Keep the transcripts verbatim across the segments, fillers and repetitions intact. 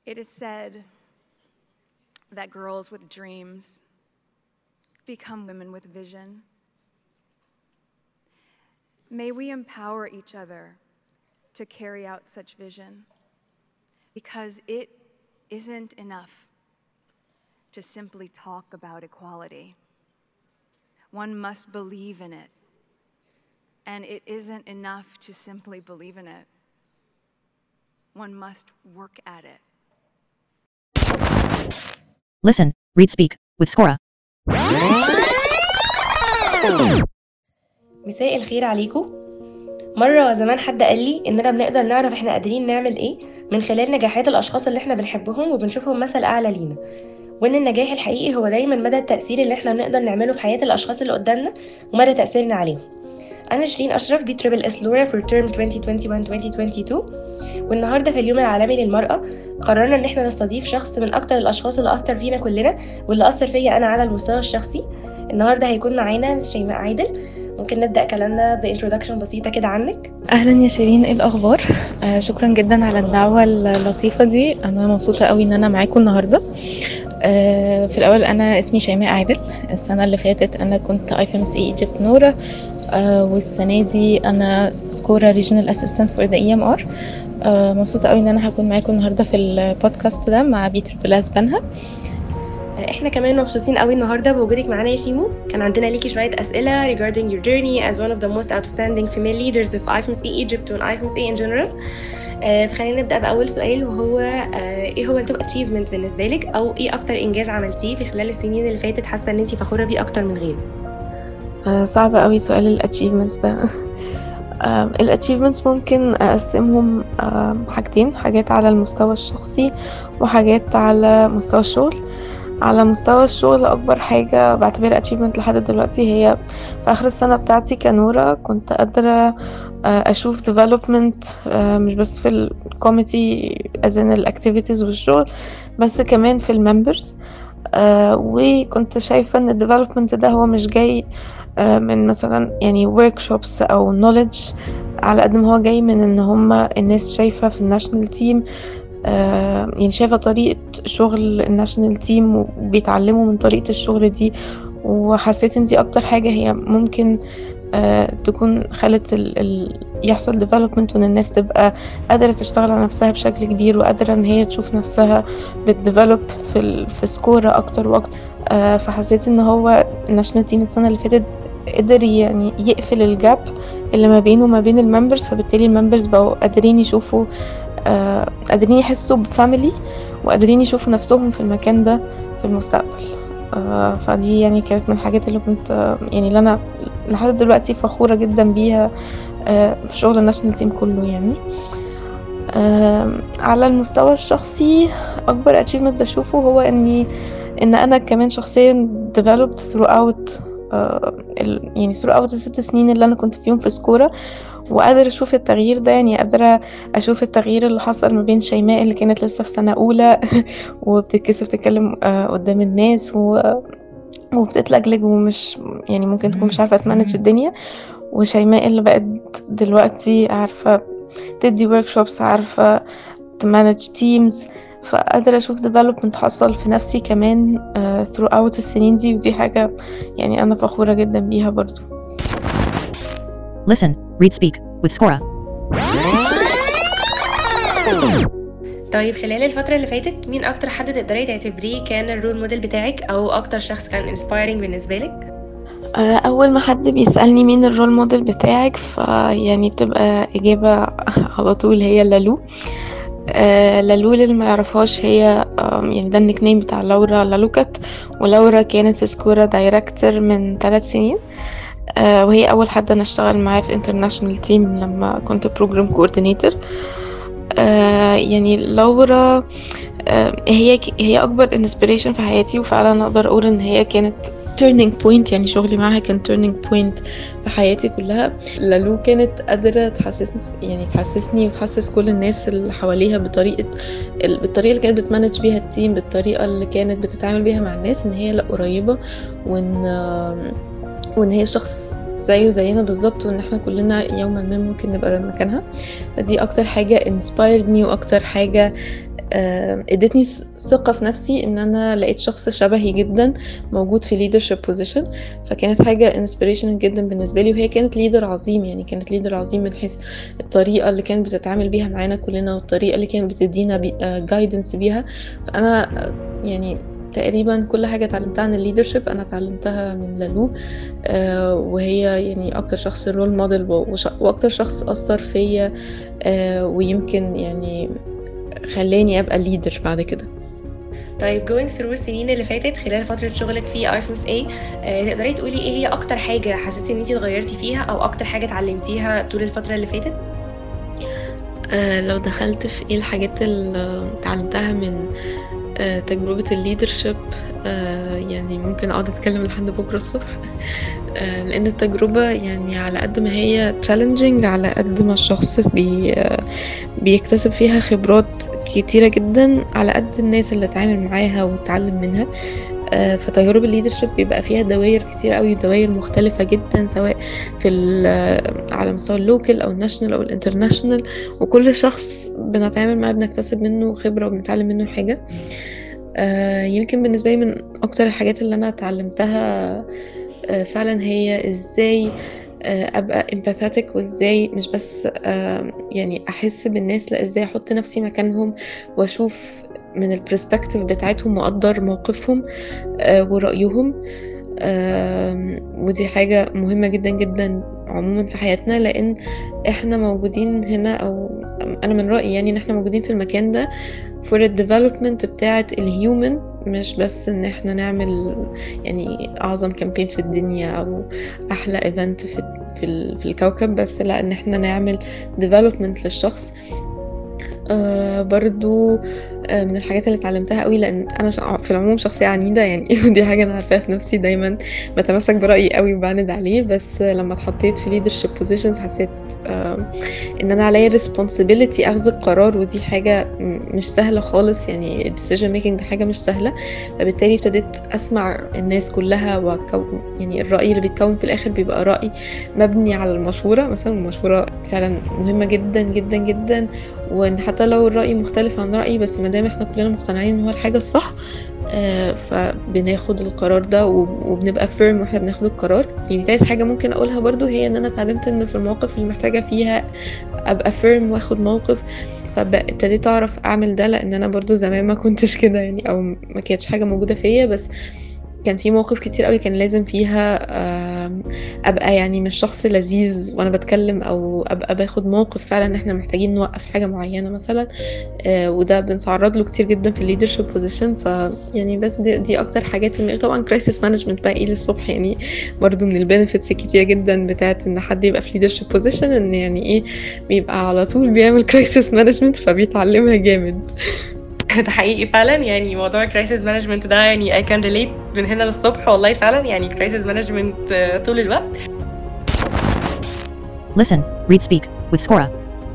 It is said that girls with dreams become women with vision. May we empower each other to carry out such vision, because it isn't enough to simply talk about equality. One must believe in it, and it isn't enough to simply believe in it. One must work at it. Listen, read, speak with Skora. مساء الخير عليكم. مرة زمان حد قال لي إننا بنقدر نعرف إحنا قادرين نعمل إيه من خلال نجاحات الأشخاص اللي إحنا بنحبهم وبنشوفهم مثل أعلى لينا، وإن النجاح الحقيقي هو دايما مدى التأثير اللي إحنا بنقدر نعمله في حياة الأشخاص اللي قدامنا ومدى تأثيرنا عليهم. أنا شيرين أشرف بي تريبل اس لورا for term twenty twenty-one twenty twenty-two، والنهاردة في اليوم العالمي للمرأة قررنا إن إحنا نستضيف شخص من أكتر الأشخاص اللي أثر فينا كلنا واللي أثر فيا أنا على المستوى الشخصي. النهاردة هيكون معانا مس شيماء عادل. ممكن نبدأ كلامنا بانترودكشن بسيطة كده عنك؟ اهلا يا شيرين، ايه الاخبار؟ آه شكرا جدا على الدعوه اللطيفه دي، انا مبسوطه قوي ان انا معاكم النهارده. آه في الاول انا اسمي شيماء عادل. السنه اللي فاتت انا كنت اي اف ام اس اي ايجيبت نورا، آه والسنه دي انا سكورا ريجنال اسيستنت فور ذا اي ام ار. مبسوطه قوي ان انا هكون معاكم النهارده في البودكاست ده مع بي تريبل اس بنها. احنا كمان مبسوطين قوي النهارده بوجودك معانا يا شيمو. كان عندنا ليكي شويه اسئله regarding your journey as one of the most outstanding female leaders of اي اف ام اس اي Egypt و اي اف ام اس اي in general. آه فخلينا نبدا باول سؤال، وهو آه ايه هو التوب اتشيفمنت بالنسبه لك، او ايه اكتر انجاز عملتيه في خلال السنين اللي فاتت حاسه ان انت فخوره بيه اكتر من غيره؟ آه صعب قوي سؤال الاتشيفمنتس ده. الاتشيفمنتس ممكن اقسمهم حاجتين، حاجات على المستوى الشخصي وحاجات على مستوى الشغل. على مستوى الشغل اكبر حاجه بعتبرها اتشيفمنت لحد دلوقتي هي في اخر السنه بتاعتي كنورة كنت قادره اشوف ديفلوبمنت مش بس في الكوميتي ازن الاكتيفيتيز والشغل، بس كمان في الممبرز. وكنت شايفه ان الديفلوبمنت ده هو مش جاي من مثلا يعني workshops او knowledge، على قد ما هو جاي من ان هم الناس شايفه في الناشونال تيم، آه يعني شايفة طريقة شغل الناشونال تيم وبيتعلموا من طريقة الشغل دي. وحسيت ان دي اكتر حاجة هي ممكن آه تكون خلت ال ال يحصل development، وان الناس تبقى قادرة تشتغل على نفسها بشكل كبير وقادرة ان هي تشوف نفسها بتديفلوب في, في سكورة اكتر واكتر. آه فحسيت ان هو الناشونال تيم السنة اللي فاتت قدر يعني يقفل الجاب اللي ما بينه وما بين الممبرز، فبالتالي الممبرز بقوا قادرين يشوفوا آه قادرين يحسوا بفاميلي وقادرين يشوفوا نفسهم في المكان ده في المستقبل. آه فدي يعني كانت من الحاجات اللي كنت آه يعني اللي انا لحد دلوقتي فخورة جدا بيها آه في شغل الناشونال تيم كله. يعني آه على المستوى الشخصي اكبر اتشيفمنت بشوفه هو اني ان انا كمان شخصيا developed throughout آه يعني throughout الست سنين اللي انا كنت فيهم في سكورة، وقادر اشوف التغيير ده. يعني قادرة اشوف التغيير اللي حصل ما بين شيماء اللي كانت لسه في سنة اولى وبتتكسف تتكلم قدام الناس وبتتلجلج ومش يعني ممكن تكون مش عارفة تمانج الدنيا، وشيماء اللي بقت دلوقتي عارفة تدي workshops، عارفة تمانج تيمز. فقادرة اشوف development حصل في نفسي كمان uh, throughout السنين دي، ودي حاجة يعني انا فخورة جدا بيها برضو. Listen, read, speak with Skora. طيب خلال الفترة اللي فاتت مين أكتر حد تقدري تعتبريه كان الرول موديل بتاعك، أو أكتر شخص كان inspiring بالنسبة لك؟ أول ما حد بيسألني مين الرول موديل بتاعك فيعني بتبقى إجابة على طول هي لالو. آه لالو اللي ما يعرفهاش هي يعني ده النيك نيم بتاع لورا لالوكت، ولورا كانت سكورة دايركتور من ثلاث سنين، آه وهي أول حد أنا اشتغل معاه في انترناشنال تيم لما كنت بروجرام كوردينيتور. آه يعني لورا آه هي هي أكبر انسبيريشن في حياتي، وفعلا أقدر أقول إن هي كانت turning point. يعني شغلي معاها كان turning point في حياتي كلها. لالو كانت قادرة تحسسني يعني تحسسني وتحسس كل الناس اللي حواليها بطريقة بالطريقة اللي كانت بتمانج بيها التيم، بالطريقة اللي كانت بتتعامل بيها مع الناس، ان هي لا قريبة، وان وان هي شخص زيه زينا بالظبط، وان احنا كلنا يوما ما ممكن نبقى مكانها. فدي اكتر حاجة inspired me، واكتر حاجة آه، ادتني ث- ثقة في نفسي ان انا لقيت شخص شبهي جدا موجود في leadership position. فكانت حاجة inspirational جدا بالنسبة لي، وهي كانت ليدر عظيم، يعني كانت ليدر عظيم من حيث الطريقة اللي كانت بتتعامل بيها معانا كلنا، والطريقة اللي كانت بتدينا بي آه، guidance بيها. فانا آه، يعني تقريبا كل حاجة اتعلمتها عن الليدرشيب انا اتعلمتها من لالو. آه، وهي يعني اكتر شخص رول موديل، واكتر شخص اثر فيا، آه، ويمكن يعني خلاني ابقى ليدر بعد كده. طيب going through السنين اللي فاتت خلال فترة شغلك في اي اف ام اس اي، تقدري تقولي ايه هي اكتر حاجة حسيتي ان انتي اتغيرتي فيها او اكتر حاجة اتعلمتيها طول الفترة اللي فاتت؟ آه، لو دخلت في ايه الحاجات اللي اتعلمتها من آه، تجربة الليدرشيب، آه، يعني ممكن اقعد اتكلم لحد بكرة الصبح. آه، لان التجربة يعني على قد ما هي challenging، على قد ما الشخص بي آه، بيكتسب فيها خبرات كتيرة جدا على قد الناس اللي اتعامل معاها واتعلم منها. آه، فتجارب الليدرشيب بيبقى فيها دوائر كتير قوي، دوائر مختلفة جدا، سواء في ال- آه، على مستوى اللوكال او الناشونال او الانترناشونال، وكل شخص بنتعامل معاه بنكتسب منه خبرة وبنتعلم منه حاجة. آه، يمكن بالنسبة لي من اكتر الحاجات اللي انا اتعلمتها آه، فعلا هي ازاي آه، ابقى empathetic، وازاي مش بس آه، يعني احس بالناس، لا ازاي احط نفسي مكانهم واشوف من البرسبكتيف بتاعتهم واقدر موقفهم آه، ورأيهم. آم، ودي حاجة مهمة جدا جدا عموما في حياتنا، لان احنا موجودين هنا، او انا من رأيي يعني ان احنا موجودين في المكان ده for the development بتاعة الهيومن، مش بس ان احنا نعمل يعني اعظم كامبين في الدنيا او احلى ايفنت في في, ال- في الكوكب، بس لا، ان احنا نعمل development للشخص. آه برضو آه من الحاجات اللي اتعلمتها قوي، لان انا شع- في العموم شخصيه عنيده يعني ودي حاجه انا عارفاها في نفسي، دايما بتمسك برايي قوي وبعند عليه. بس آه لما اتحطيت في leadership positions حسيت آه ان انا عليا responsibility اخذ القرار، ودي حاجه م- مش سهله خالص، يعني decision making دي حاجه مش سهله. فبالتالي ابتديت اسمع الناس كلها، وأكون يعني الراي اللي بيتكون في الاخر بيبقى راي مبني على المشوره. مثلا المشوره فعلا مهمه جدا جدا جدا، وان حتى لو الرأي مختلف عن رأيي، بس ما دام احنا كلنا مقتنعين ان هو الحاجة الصح، آه فبناخد القرار ده، وب- وبنبقى فيرم واحنا بناخد القرار. يعني تالت حاجة ممكن اقولها برضو هي ان انا اتعلمت ان في المواقف اللي محتاجة فيها ابقى فيرم واخد موقف، فابتديت اعرف اعمل ده، لان انا برضو زمان ما كنتش كده يعني، او ما كانتش حاجة موجودة فيا. بس كان في مواقف كتير قوي كان لازم فيها آم، ابقى يعني مش شخص لذيذ وانا بتكلم، او ابقى باخد موقف فعلا ان احنا محتاجين نوقف حاجة معينة مثلا. آه، وده بنتعرض له كتير جدا في الليدرشيب بوزيشن. ف يعني بس دي, دي اكتر حاجات في دماغي. طبعا كرايسيس مانجمنت بقى ايه للصبح يعني، برضو من البنفيتس الكتير جدا بتاعت ان حد يبقى في ليدرشيب بوزيشن، ان يعني ايه بيبقى على طول بيعمل كرايسيس مانجمنت، فبيتعلمها جامد. ده حقيقي فعلا، يعني موضوع crisis management ده يعني I can relate من هنا للصبح، والله فعلا يعني crisis management آه، طول الوقت. Listen, read, speak with Scora.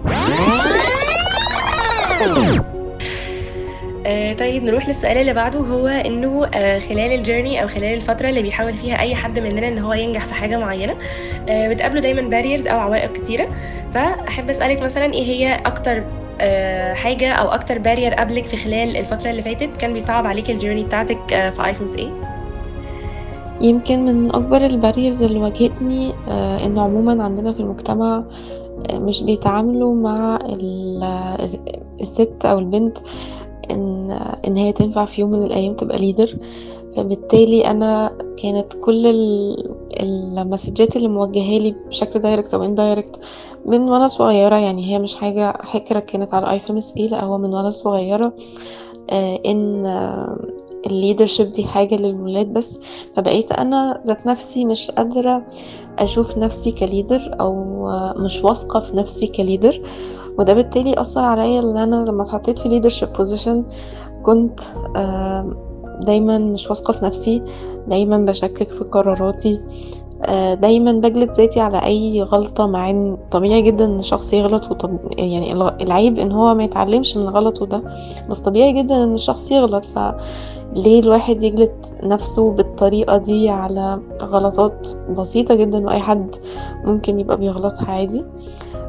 آه طيب نروح للسؤال اللي بعده، هو انه آه خلال الجيرني او خلال الفتره اللي بيحاول فيها اي حد مننا ان هو ينجح في حاجه معينه، آه بتقابله دايما باريرز او عوائق كتيره. فاحب اسالك مثلا ايه هي اكتر آه حاجه او اكتر بارير قابلك في خلال الفتره اللي فاتت كان بيصعب عليك الجيرني بتاعتك آه في اي اف ام اس اي؟ يمكن من اكبر الباريرز اللي واجهتني آه، ان عموما عندنا في المجتمع آه، مش بيتعاملوا مع ال- الست او البنت ان ان هي تنفع في يوم من الايام تبقى ليدر. فبالتالي انا كانت كل ال- المسجات اللي موجهه لي بشكل دايركت او اندايركت من وانا صغيره، يعني هي مش حاجه حكره كانت على اي اف ام اس اي، لا هو من وانا صغيره آه، ان الليدرشيب دي حاجه للولاد بس. فبقيت انا ذات نفسي مش قادره اشوف نفسي كليدر، او آه، مش واثقه في نفسي كليدر. وده بالتالي اثر عليا ان انا لما اتحطيت في leadership position كنت آم، دايما مش واثقه في نفسي، دايما بشكك في قراراتي، آه، دايما بجلد ذاتي على اي غلطه، مع ان طبيعي جدا ان الشخص يغلط، وطب يعني الغ- العيب ان هو ما يتعلمش من غلطه ده، بس طبيعي جدا ان الشخص يغلط. فليه الواحد يجلد نفسه بالطريقه دي على غلطات بسيطه جدا واي حد ممكن يبقى بيغلطها عادي؟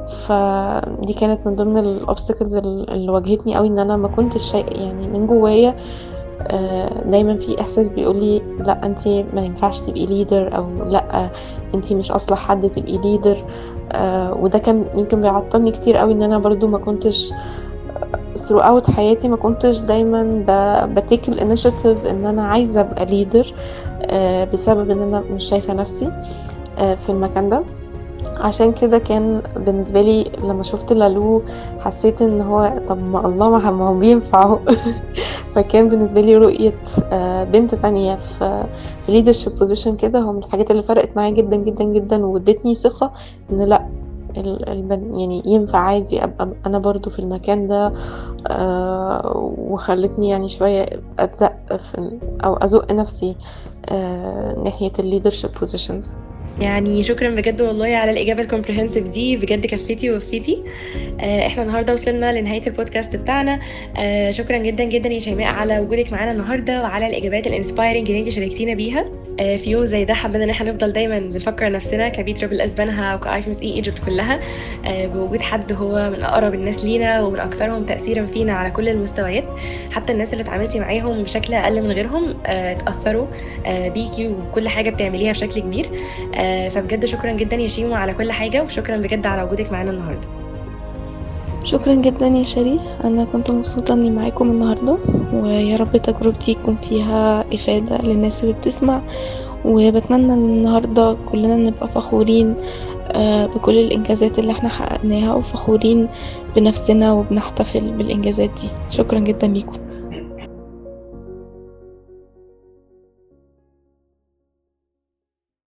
فدي كانت من ضمن الobstacles ال اللي واجهتني أوي، إن أنا ما كنتش شاي يعني من جوايا آآ دايمًا في إحساس بيقول لي لأ أنتِ ما ينفعش تبقي leader، أو لأ أنتِ مش أصلح حد تبقي leader. آآ وده كان يمكن بيعطّلني كتير أوي، إن أنا برضه ما كنتش throughout حياتي ما كنتش دايمًا ب بtake الinitiative إن أنا عايزة أبقى leader، آآ بسبب إن أنا مش شايفة نفسي آآ في المكان ده. عشان كده كان بالنسبة لي لمّا شُفت لالو حسيت إن هو طب ما الله ما ه ما هو بينفع أهو. فكان بالنسبة لي رؤية آآ بنت تانية في في leadership position كده هو من الحاجات اللي فرقت معايا جدًا، جدًا، جدًا، وادّتني ثقة إن لأ ال البن يعني ينفع عادي أبقى أنا برضه في المكان ده. آآ وخلّتني يعني شوية أتزق في ال أو أزُق نفسي آآ ناحية الleadership positions. يعني شكرًا بجد والله على الإجابة الcomprehensive دي، بجد كفّيتِ ووفّيتِ. آآ إحنا النهارده وصلنا لنهاية البودكاست بتاعنا. آآ شكرًا جدًا، جدًا يا شيماء على وجودِك معانا النهارده وعلى الإجابات الinspiring اللي أنتِ شاركتينا بيها. آآ في يوم زي ده حابين إن إحنا نفضل دايمًا بنفكّر نفسنا كB triple S بنها وكIFMS E Egypt كلّها آآ بوجود حد هو من أقرب الناس لينا ومن أكثرهم تأثيرًا فينا على كل المستويات، حتى الناس اللي اتعاملتِ معاهم بشكل أقل من غيرهم آآ اتأثّروا آآ بيكِ وبكل حاجة بتعمليها بشكل كبير. آآ فبجد شكرًا جدًا يا شيمو على كل حاجة، وشكرًا بجد على وجودِك معانا النهارده. شكرًا جدًا يا شيرين، أنا كنت مبسوطة إني معاكم النهارده، ويا رب تجربتي يكون فيها إفادة للناس اللي بتسمع، وباتمنى إن النهارده كلنا نبقى فخورين آآ بكل الإنجازات اللي إحنا حققناها، وفخورين بنفسنا وبنحتفل بالإنجازات دي. شكرًا جدًا ليكم.